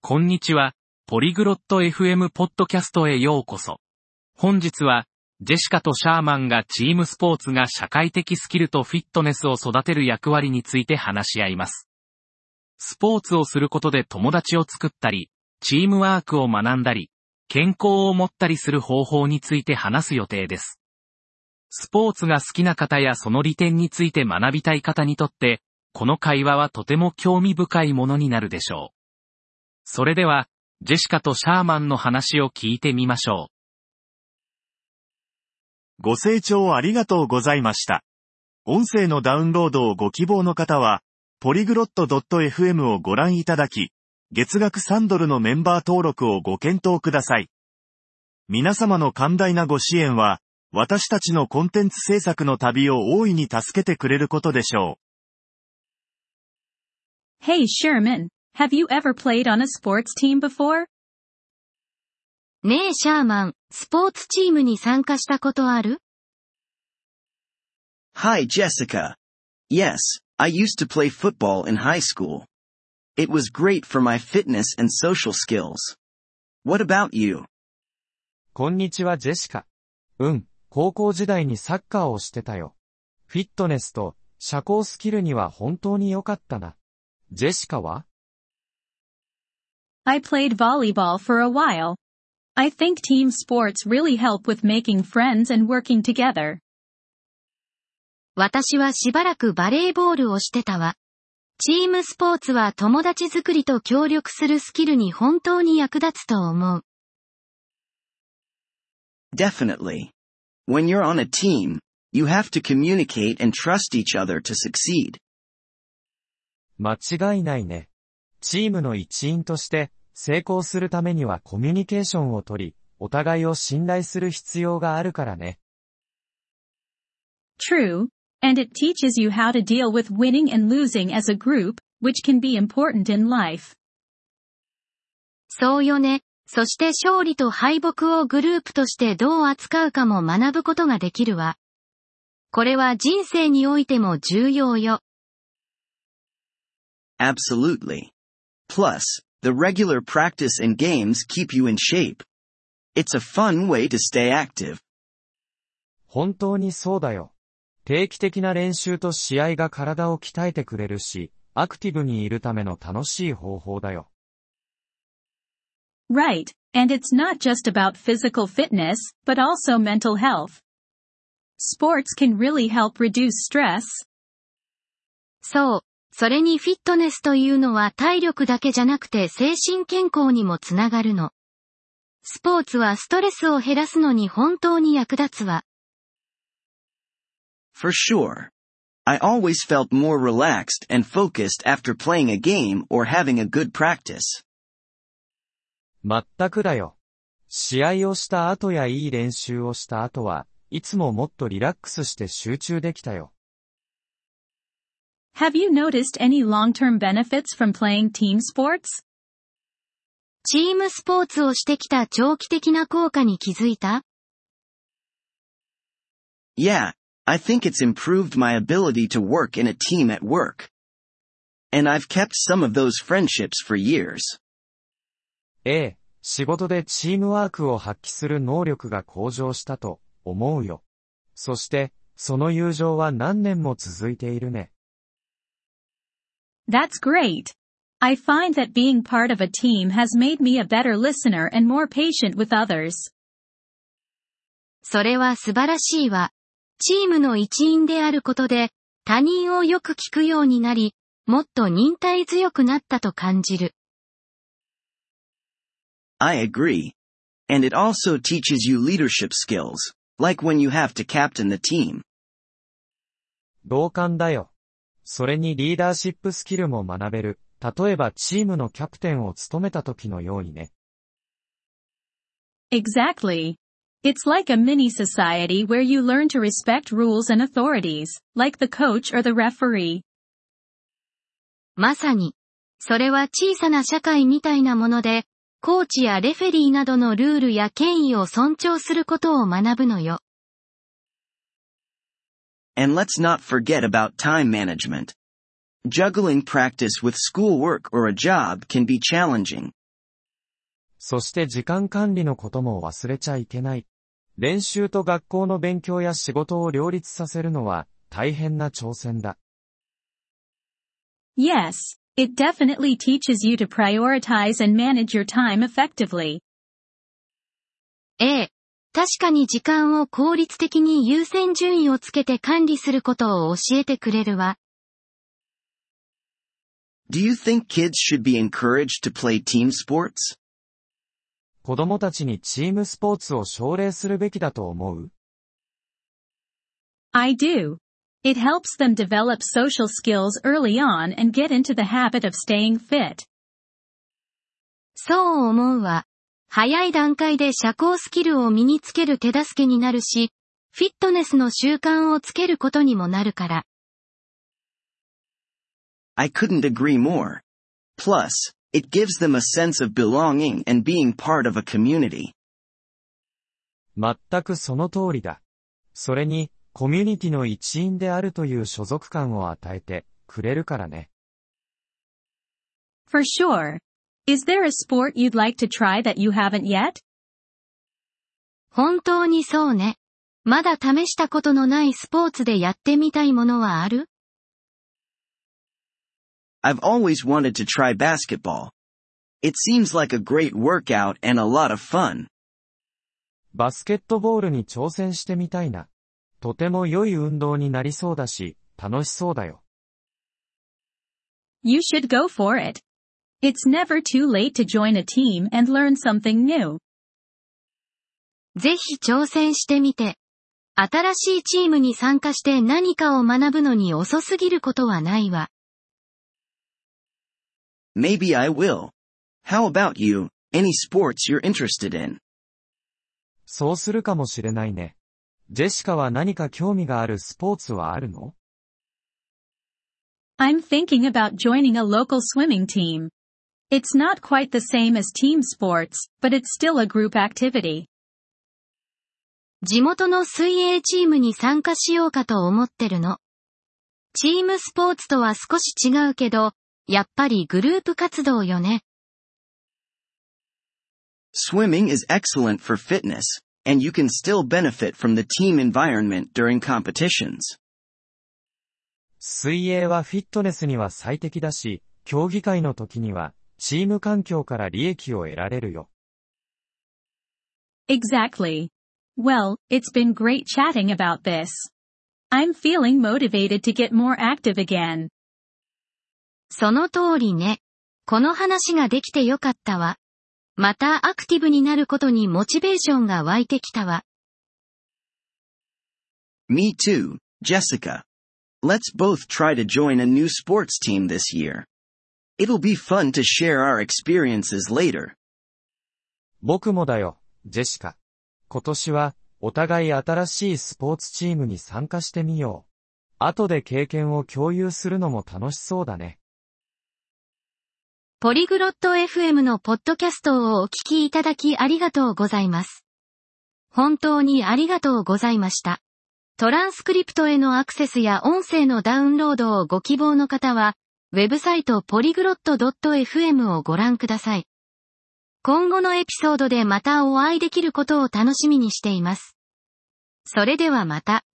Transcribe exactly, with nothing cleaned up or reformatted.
こんにちは、ポリグロット エフエム ポッドキャストへようこそ。本日は、ジェシカとシャーマンがチームスポーツが社会的スキルとフィットネスを育てる役割について話し合います。スポーツをすることで友達を作ったり、チームワークを学んだり、健康を持ったりする方法について話す予定です。スポーツが好きな方やその利点について学びたい方にとって、この会話はとても興味深いものになるでしょう。それでは、ジェシカとシャーマンの話を聞いてみましょう。ご清聴ありがとうございました。音声のダウンロードをご希望の方は、ポリグロット エフエム をご覧いただき、月額さんドルのメンバー登録をご検討ください。皆様の寛大なご支援は、私たちのコンテンツ制作の旅を大いに助けてくれることでしょう。Hey Sherman!Have you ever played on a sports team before? ねえシャーマン、スポーツチームに参加したことある？ Hi Jessica. Yes, I used to play football in high school. It was great for my fitness and social skills. What about you? こんにちはジェシカ。うん、高校時代にサッカーをしてたよ。フィットネスと社交スキルには本当に良かったな。ジェシカは ？I played volleyball for a while. I think team sports really help with making friends and working together. 私はしばらくバレーボールをしてたわ。チームスポーツは友達作りと協力するスキルに本当に役立つと思う。 Definitely. When you're on a team, you have to communicate and trust each other to succeed. 間違いないね。チームの一員として成功するためにはコミュニケーションを取り、お互いを信頼する必要があるからね。 True, and it teaches you how to deal with winning and losing as a group, which can be important in life. そうよね。そして勝利と敗北をグループとしてどう扱うかも学ぶことができるわ。これは人生においても重要よ。 Absolutely. Plus, the regular practice and games keep you in shape. It's a fun way to stay active. 本当にそうだよ。定期的な練習と試合が体を鍛えてくれるし、アクティブにいるための楽しい方法だよ。 Right, and it's not just about physical fitness, but also mental health. Sports can really help reduce stress. そう。それにフィットネスというのは体力だけじゃなくて精神健康にもつながるの。スポーツはストレスを減らすのに本当に役立つわ。 For sure. I always felt more relaxed and focused after playing a game or having a good practice. まったくだよ。試合をした後やいい練習をした後はいつももっとリラックスして集中できたよ。 Have you noticed any long-term benefits from playing team sports? チームスポーツをしてきた長期的な効果に気づいた？ Yeah, I think it's improved my ability to work in a team at work. And I've kept some of those friendships for years. ええ、仕事でチームワークを発揮する能力が向上したと思うよ。そして、その友情は何年も続いているね。 That's great. I find that being part of a team has made me a better listener and more patient with others. それは素晴らしいわ。チームの一員であることで、他人をよく聞くようになり、もっと忍耐強くなったと感じる。 I agree. And it also teaches you leadership skills, like when you have to captain the team. 同感だよ。それにリーダーシップスキルも学べる。例えばチームのキャプテンを務めた時のようにね。 Exactly. It's like a mini society where you learn to respect rules and authorities, like the coach or the referee. まさに。それは小さな社会みたいなもので、コーチやレフェリーなどのルールや権威を尊重することを学ぶのよ。 And let's not forget about time management. Juggling practice with schoolwork or a job can be challenging, そして時間管理のことも忘れちゃいけない。練習と学校の勉強や仕事を両立させるのは大変な挑戦だ。 Yes, it definitely teaches you to prioritize and manage your time effectively. ええ。確かに時間を効率的に優先順位をつけて管理することを教えてくれるわ。 Do you think kids should be encouraged to play team sports? 子供たちにチームスポーツを奨励するべきだと思う？ I do. It helps them develop social skills early on and get into the habit of staying fit. そう思うわ。早い段階で社交スキルを身につける手助けになるし、フィットネスの習慣をつけることにもなるから。 I couldn't agree more. Plus, it gives them a sense of belonging and being part of a community. 全くその通りだ。それに、コミュニティの一員であるという所属感を与えてくれるからね。 For sure. Is there a sport you'd like to try that you haven't yet? 本当にそうね。まだ試したことのないスポーツでやってみたいものはある？ I've always wanted to try basketball. It seems like a great workout and a lot of fun. バスケットボールに挑戦してみたいな。とても良い運動になりそうだし、楽しそうだよ。 You should go for it. It's never too late to join a team and learn something new. ぜひ挑戦してみて。新しいチームに参加して何かを学ぶのに遅すぎることはないわ。 Maybe I will. How about you? Any sports you're interested in? そうするかもしれないね。ジェシカは何か興味があるスポーツはあるの？ I'm thinking about joining a local swimming team. It's not quite the same as team sports, but it's still a group activity. 地元の水泳チームに参加しようかと思ってるの。チームスポーツとは少し違うけど、やっぱりグループ活動よね。 Swimming is excellent for fitness, and you can still benefit from the team environment during competitions. 水泳はフィットネスには最適だし、競技会の時にはチーム環境から利益を得られるよ。 Exactly. Well, it's been great chatting about this. I'm feeling motivated to get more active again. その通りね。この話ができてよかったわ。またアクティブになることにモチベーションが湧いてきたわ。 Me too, Jessica. Let's both try to join a new sports team this year. It'll be fun to share our experiences later. 僕もだよ、ジェシカ。今年はお互い新しいスポーツチームに参加してみよう。後で経験を共有するのも楽しそうだね。 ポリグロット エフエム のポッドキャストをお聞きいただきありがとうございます。本当にありがとうございました。トランスクリプトへのアクセスや音声のダウンロードをご希望の方は、ウェブサイト ポリグロット ドット エフエム をご覧ください。今後のエピソードでまたお会いできることを楽しみにしています。それではまた。